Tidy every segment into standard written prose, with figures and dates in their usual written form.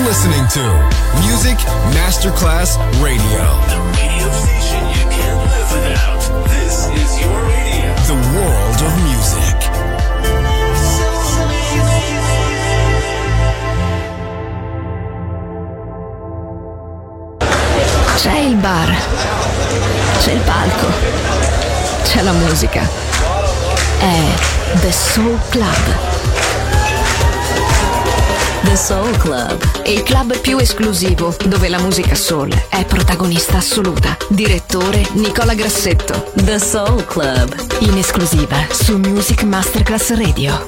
listening to Music Masterclass Radio. The radio station you can't live without. This is your radio. The world of music. C'è il bar, c'è il palco, c'è la musica. È The Soul Club. The Soul Club, il club più esclusivo dove la musica soul è protagonista assoluta. Direttore Nicola Grassetto. The Soul Club, in esclusiva su Music Masterclass Radio.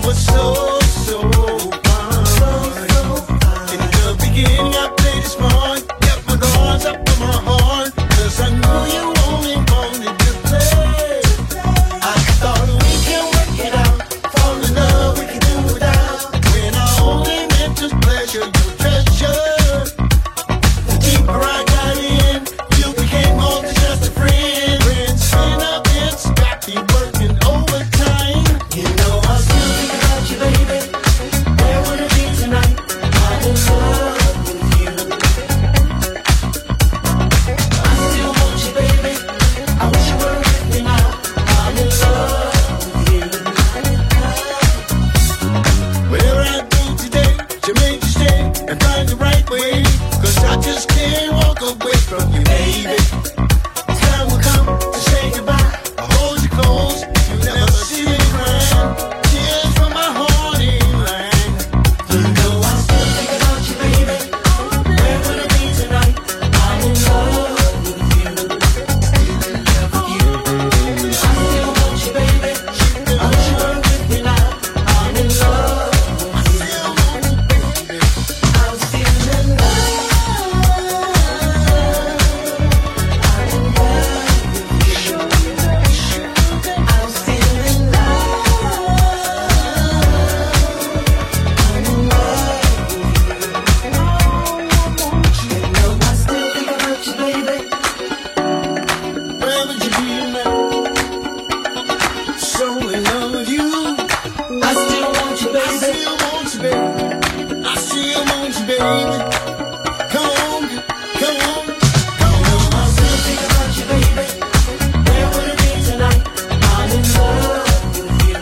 was so fun. In the beginning I played it smart, kept my guards up in my heart, 'cause I knew you only wanted to play. I thought we can work it out, fall in love we can do without, when I only meant just pleasure, your treasure. The deeper I got in, you became more than just a friend. Friends spin up and scrappy, working overtime. You know I still think about you, baby. Where would it be tonight? I'm in love with you. I still want you, baby. I wish you were with me now. I'm in love with you. Whatever I do today to make you stay and find the right way, 'cause I just can't walk away from you, baby. Time will come to say goodbye. I hold you close, you never see me crying. Tears from my heart in line. You know I still think about you, baby. Where would it be tonight? I'm in love with you. I still want you, baby. I wish you were with me now. I'm in love with you. I'm still in love. I'm in love with you. I'm still in love with you. I still want you, baby. I still want you, baby. Come on, come on, come on. I still think about you, baby. Where would it be tonight? I'm in love with you.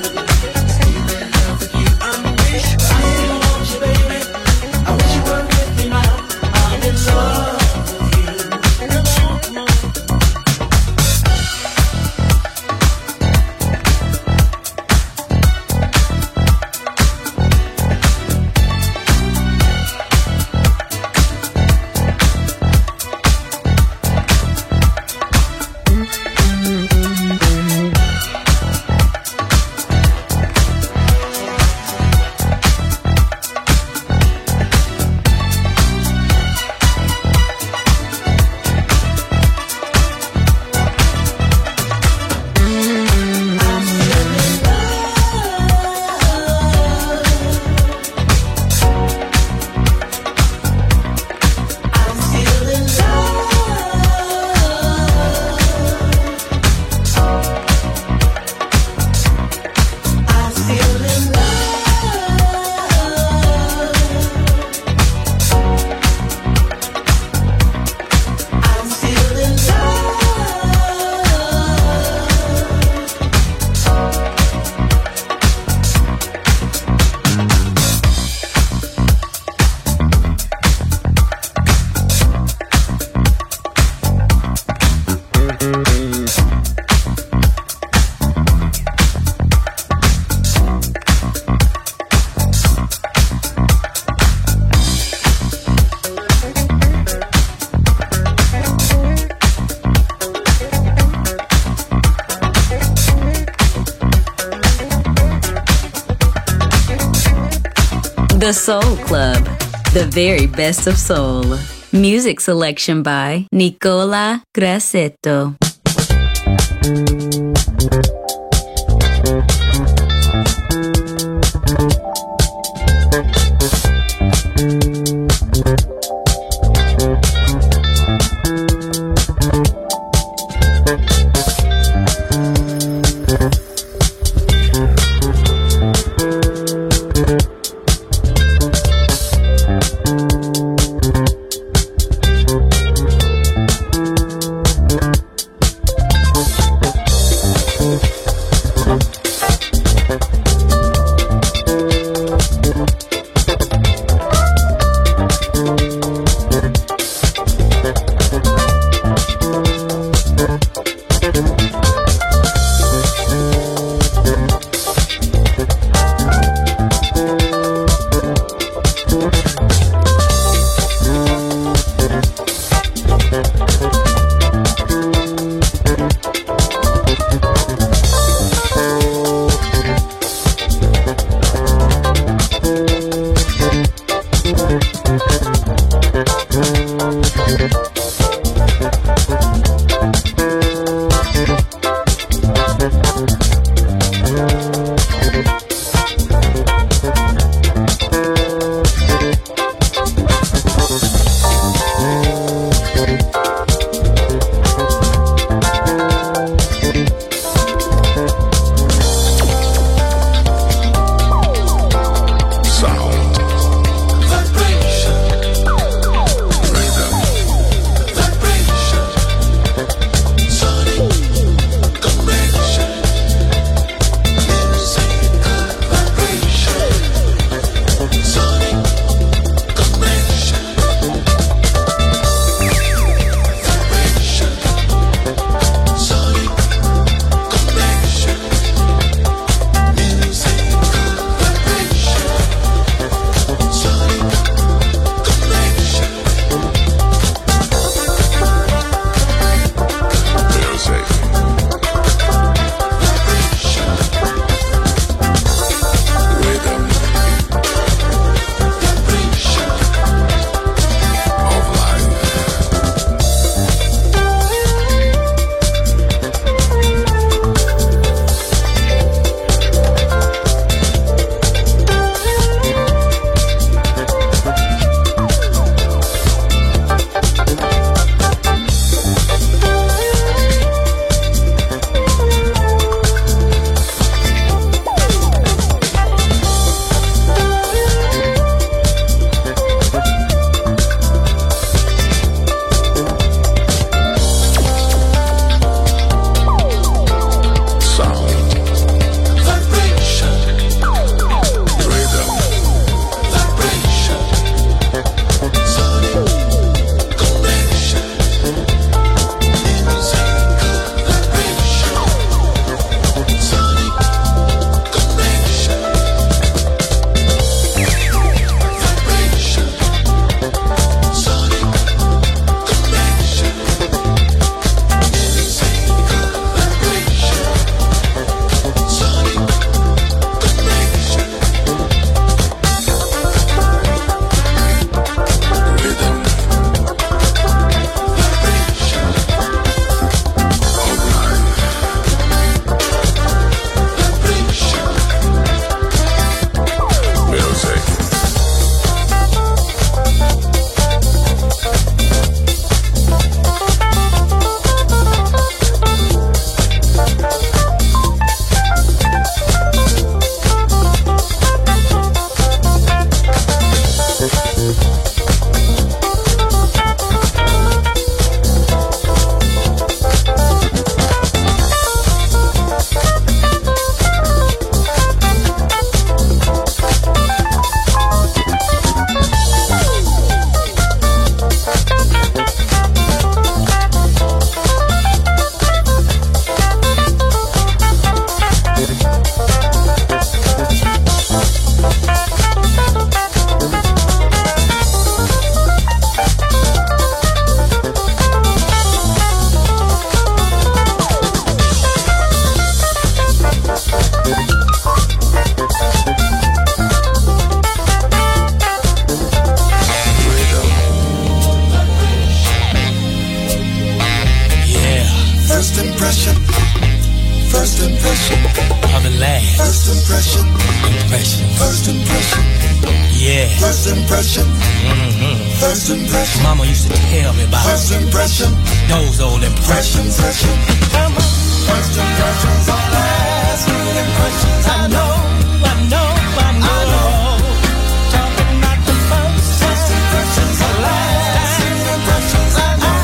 I still want you, baby. I wish you were with me now. I'm in love with you. Come on, come on. The Soul Club, the very best of soul. Music selection by Nicola Grassetto. impression. First impression. Yeah. First impression. First impression. Mama used to tell me about first impression. Those old impressions. First impression. Come on. First impressions are last. Good impressions. I know. Talking about the first impressions are last. Good impressions. I know.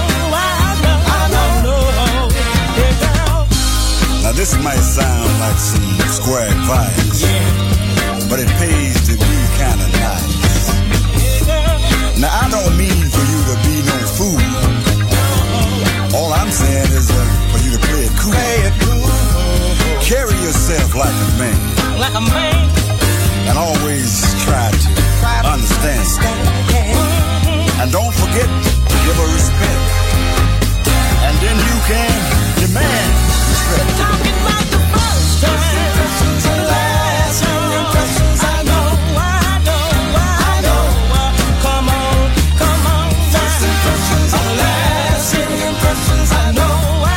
Yeah, girl. Now this might sound like some square advice, but it pays to be kind of nice. Now I don't mean for you to be no fool. All I'm saying is for you to play it cool. Carry yourself like a man. Like a man. And always try to understand. And don't forget to give her respect. And then you can demand respect. Talking about the first impressions are last. Impressions I know. Come on. First impressions are last. Impressions I know.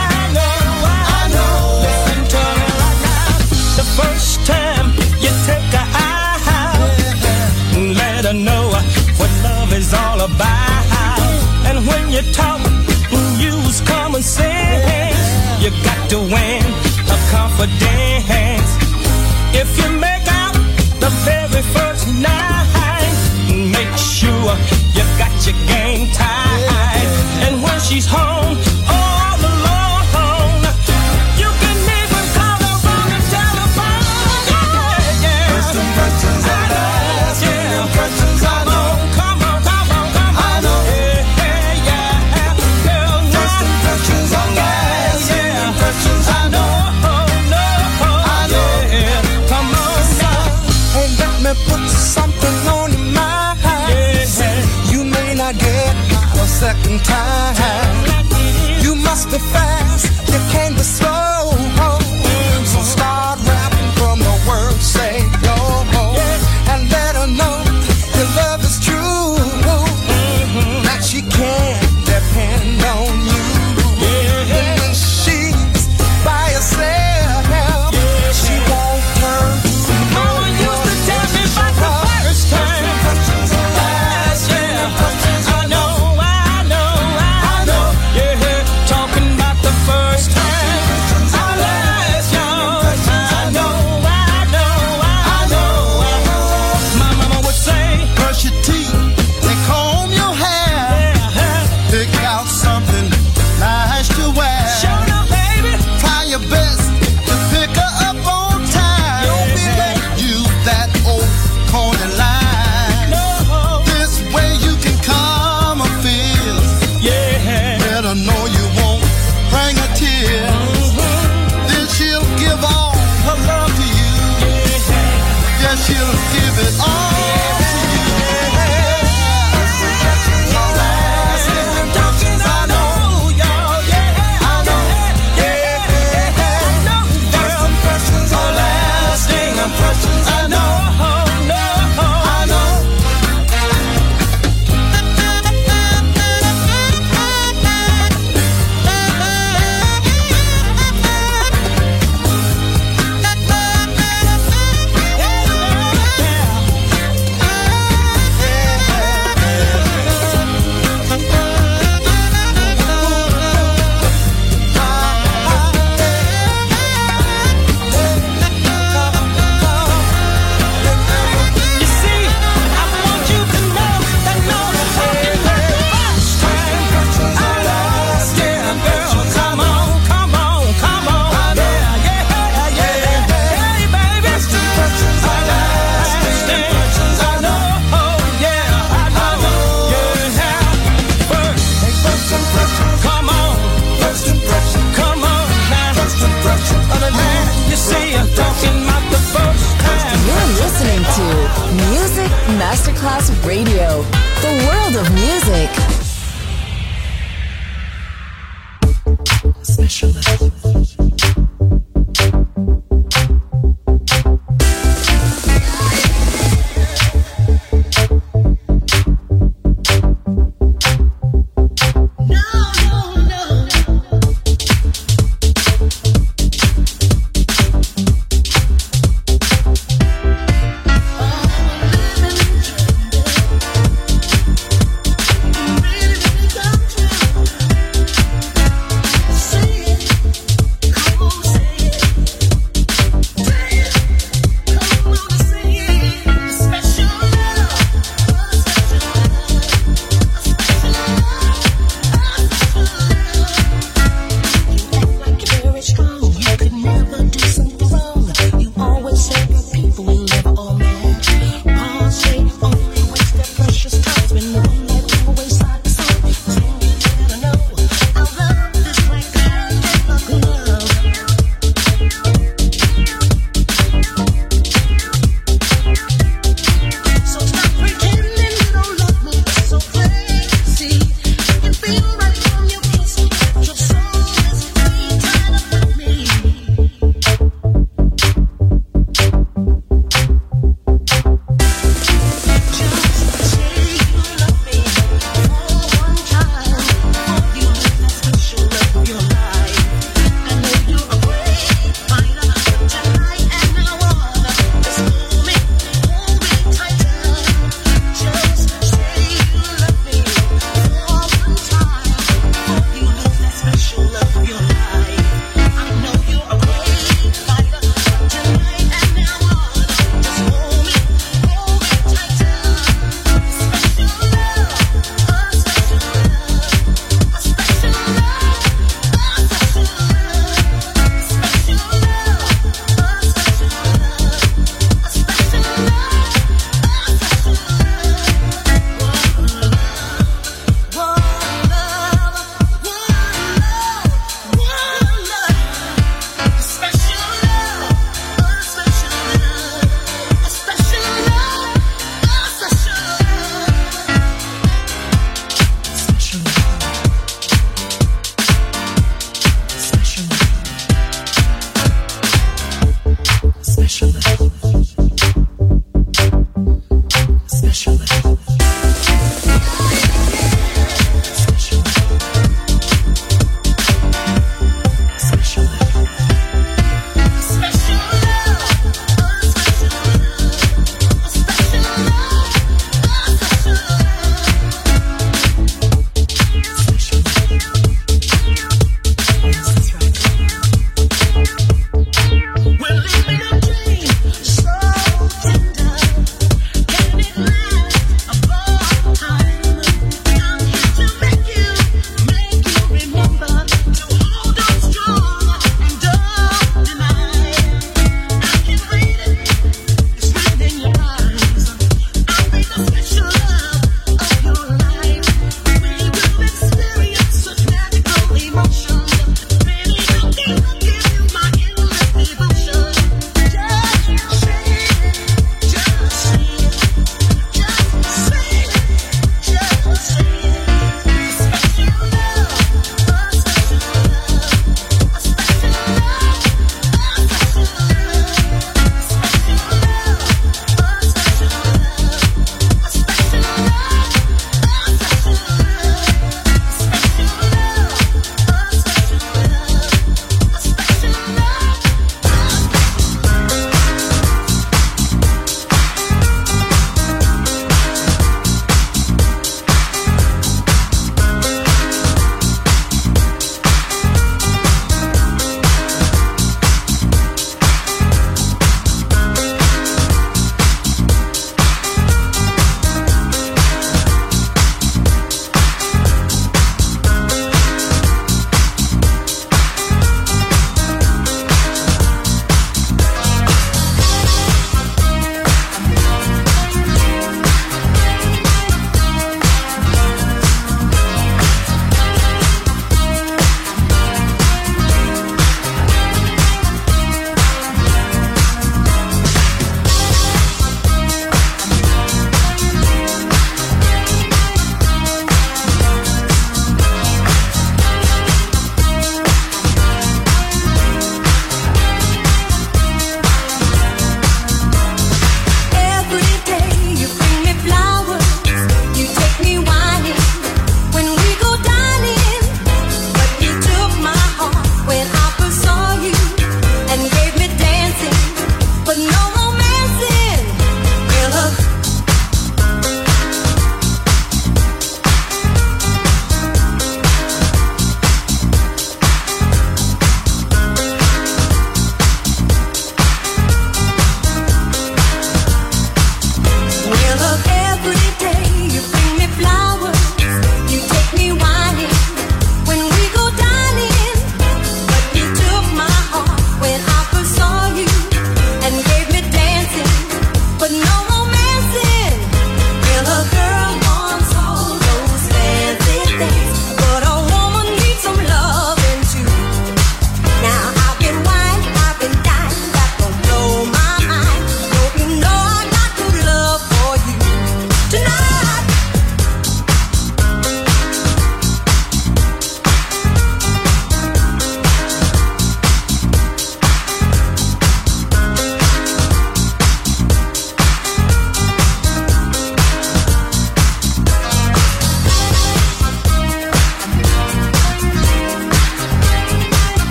Listen to me right now. The first time you take her out, let her know what love is all about. And when you talk, use common sense. You got to win her confidence. If you make out the very first night, make sure you got your game tight. And when she's home all alone, you can even call her on the telephone. Yeah. First impressions are last. Good impressions I know. Come on. I know. Yeah. Girl, First impressions are last. Good impressions I know. yeah. Come on now. Hey, let me put something on your mind. You may not get out a second time. You must be fast, you can't be slow. So start rapping from the word say go. And let her know your love is true. That she can depend on you. And when she's by herself, she won't turn to no Mama used to tell me about the first time. Last year. I know. Yeah, talking about the first time. Last year. I know. My mama would say, brush your teeth and comb your hair. Pick out something nice to wear. show up, baby. Try your best to pick her up on time. Don't be late. Use that old corner line. No. This way you can calm her fears. Yeah. Let her know you won't bring a tear. Then she'll give all her love to you. Yeah, she'll give it all to you. First impressions are last. Impressions I know. I know. First impressions are lasting. Impressions I know. I know. You see, I want you to know that no first time. I lost, yeah, girl. Come on. Yeah. Hey, baby. First impressions are lasting. Impressions I know. Yeah, I know. Yeah. First impressions. Come on. First impressions. Come on now. First impressions. You see, I'm talking about the first time. You're listening to Music Masterclass Radio, the world of music.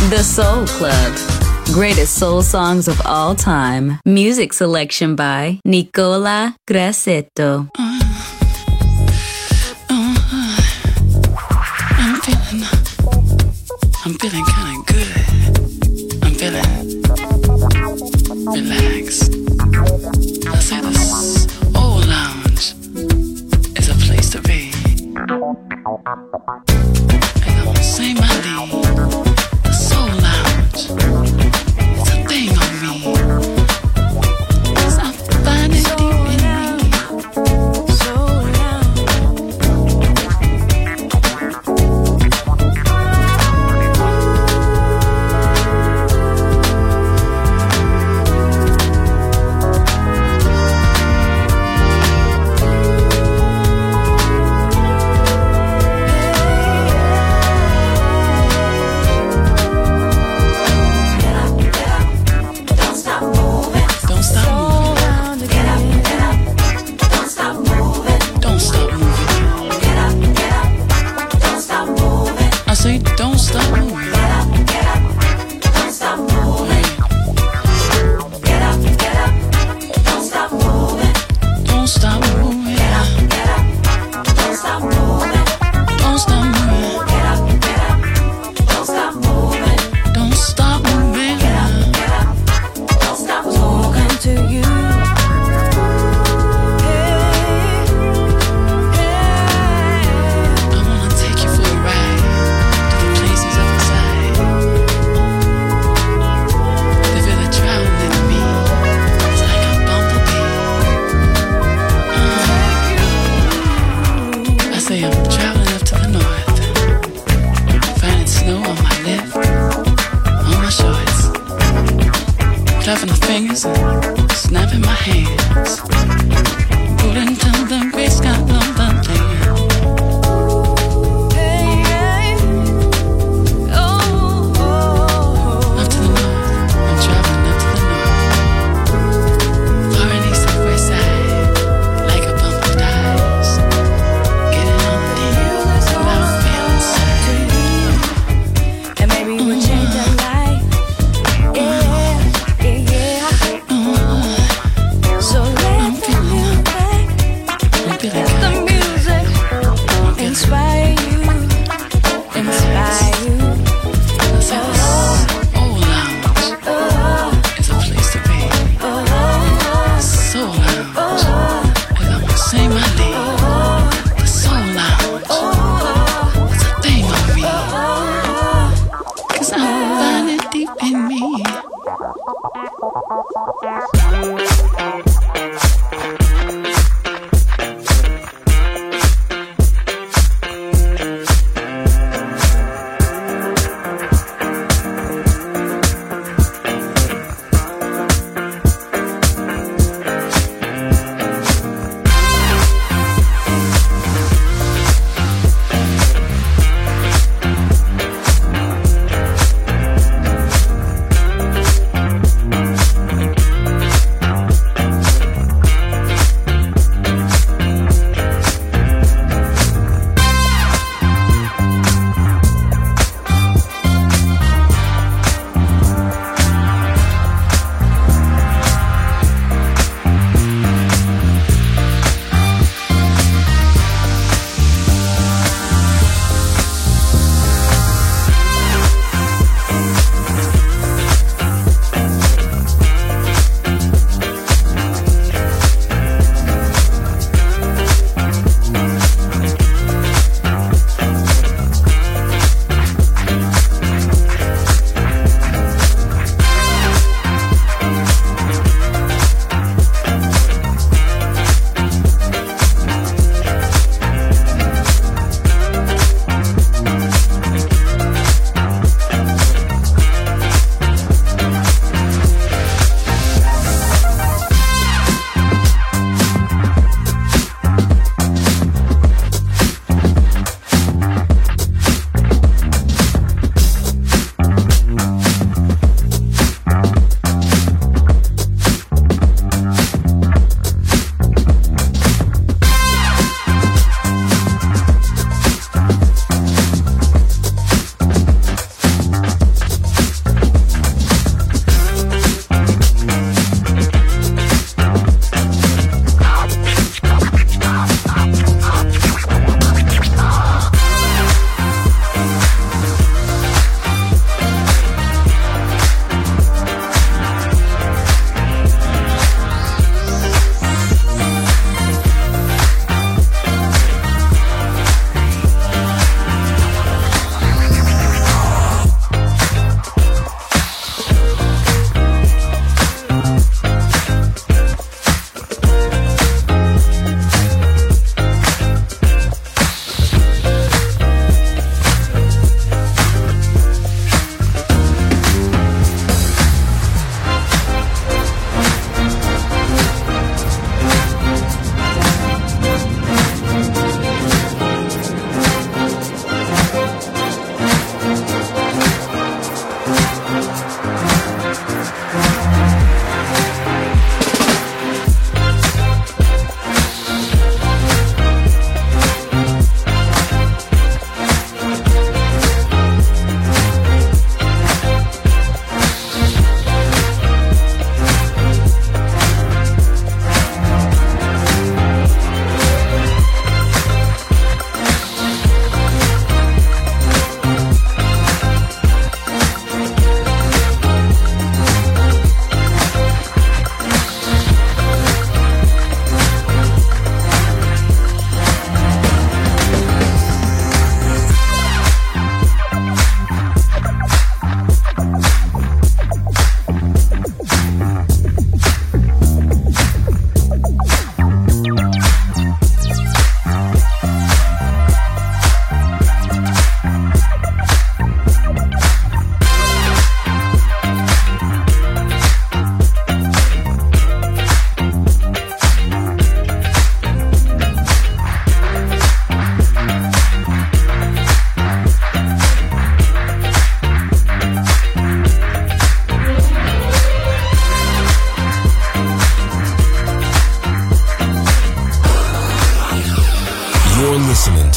The Soul Club. Greatest soul songs of all time. Music selection by Nicola Grassetto. I'm feeling kind of good. I'm feeling relaxed. I say this old lounge is a place to be. And I'm gonna say my name. The soul lounge. It's a thing on me. 'Cause I find it deep in me.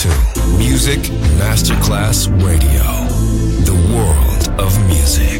to Music Masterclass Radio, the world of music.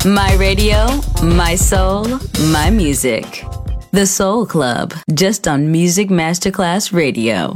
My radio, my soul, my music. The Soul Club, just on Music Masterclass Radio.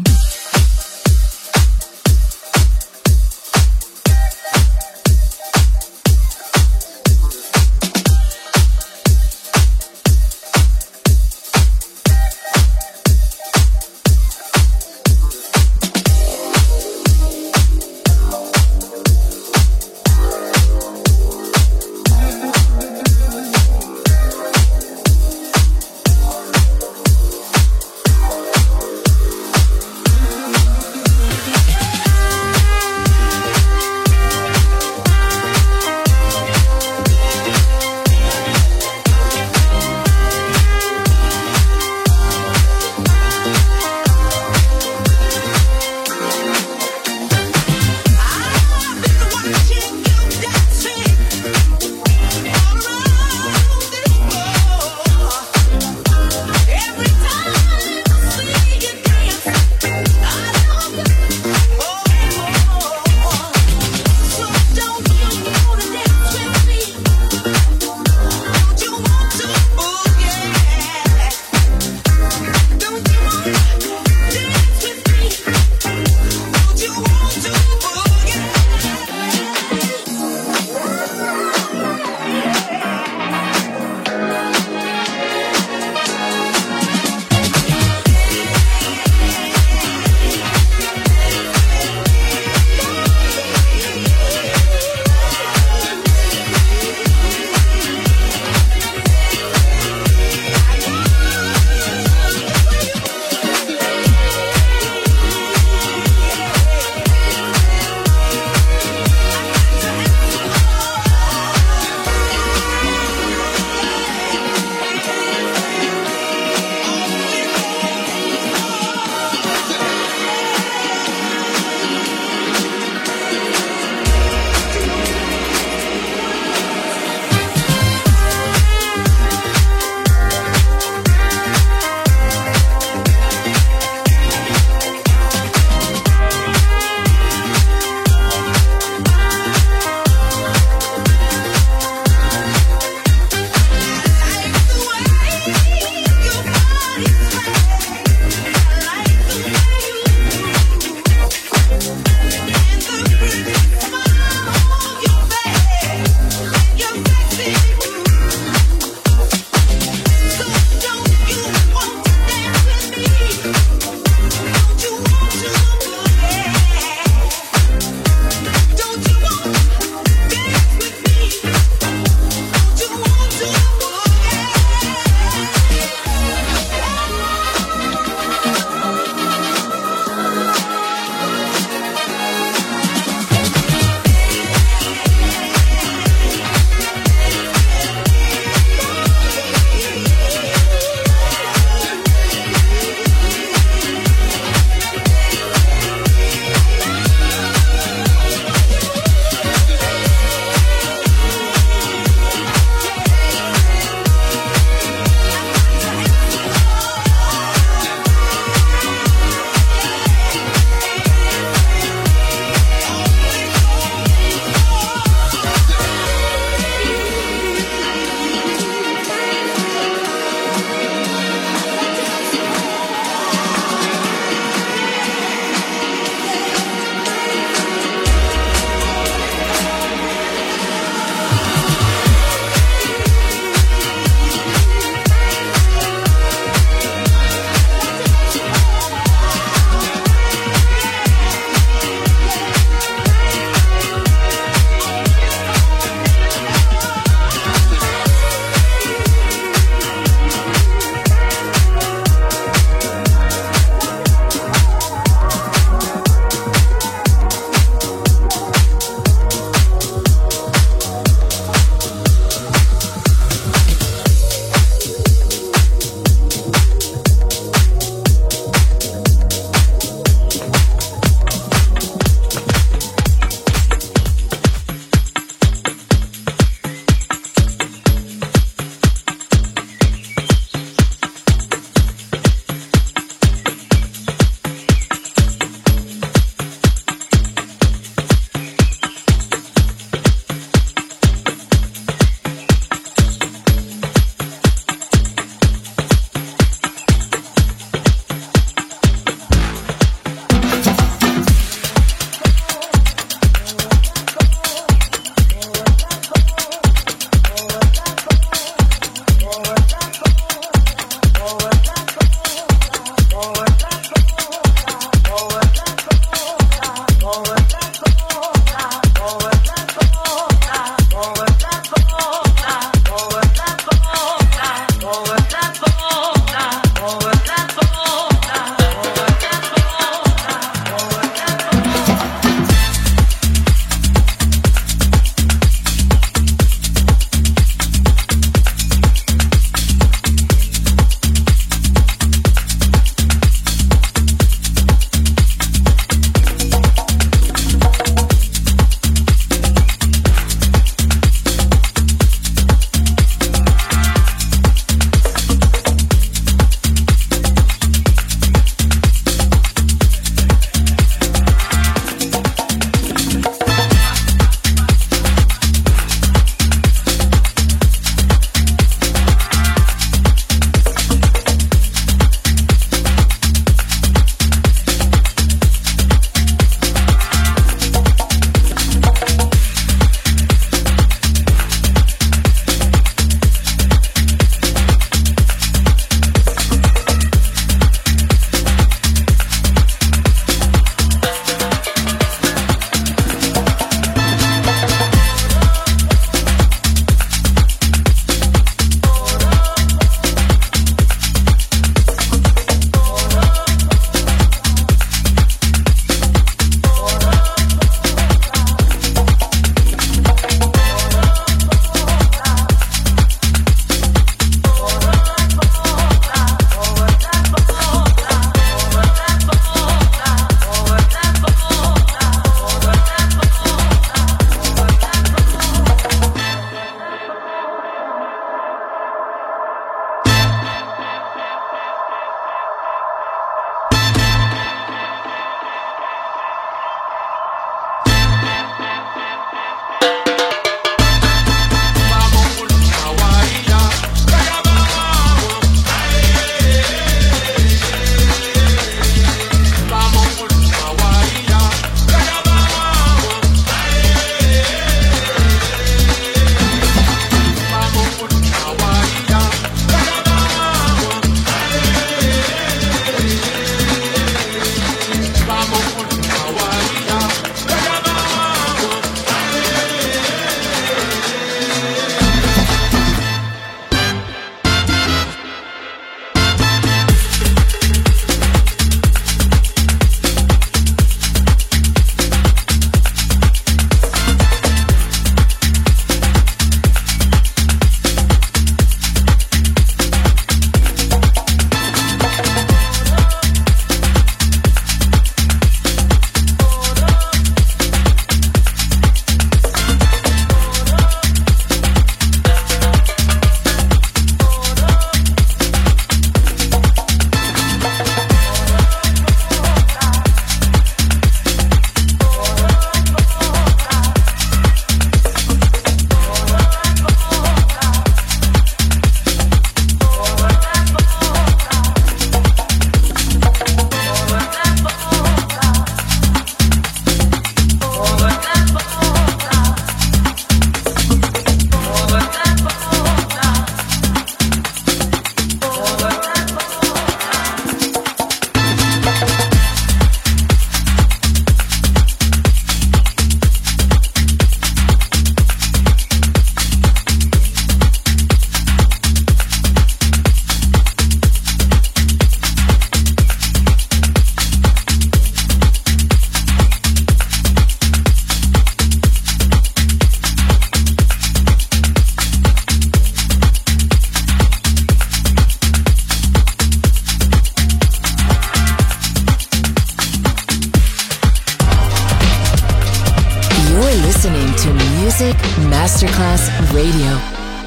You're listening to Music Masterclass Radio.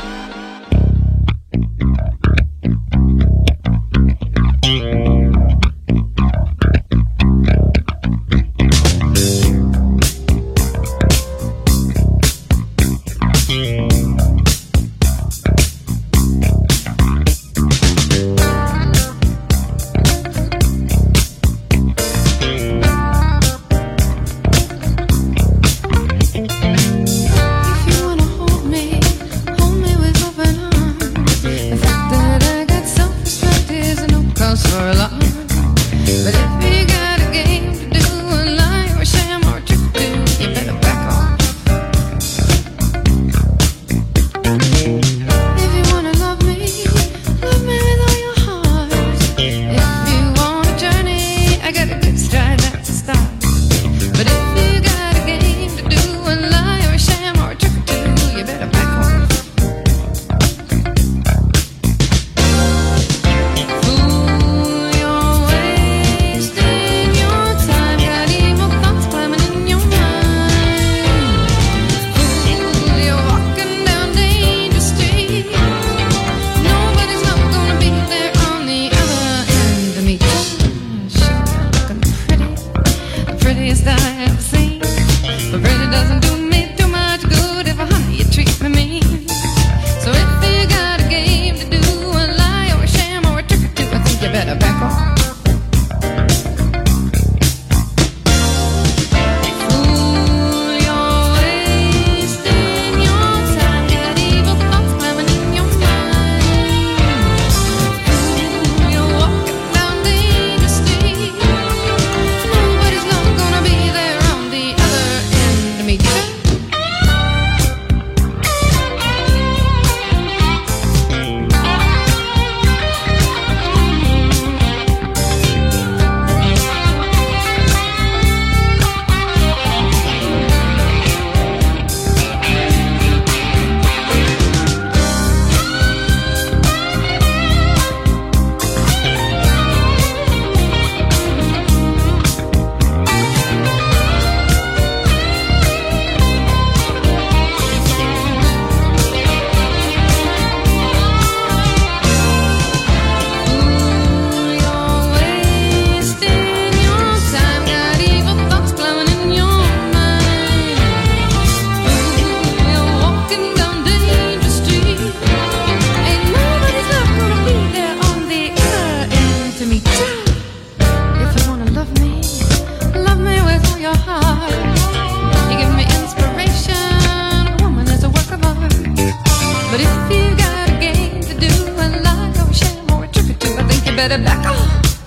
better back off.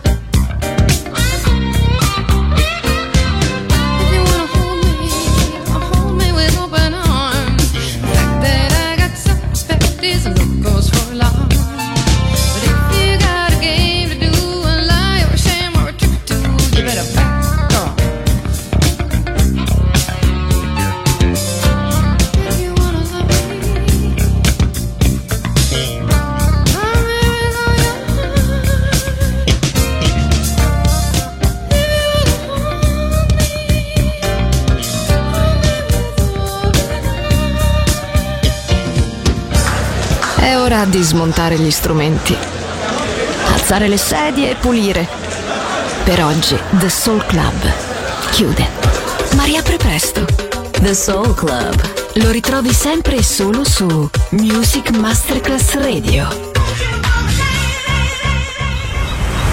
È ora di smontare gli strumenti, alzare le sedie e pulire. Per oggi The Soul Club chiude, ma riapre presto. The Soul Club lo ritrovi sempre e solo su Music Masterclass Radio.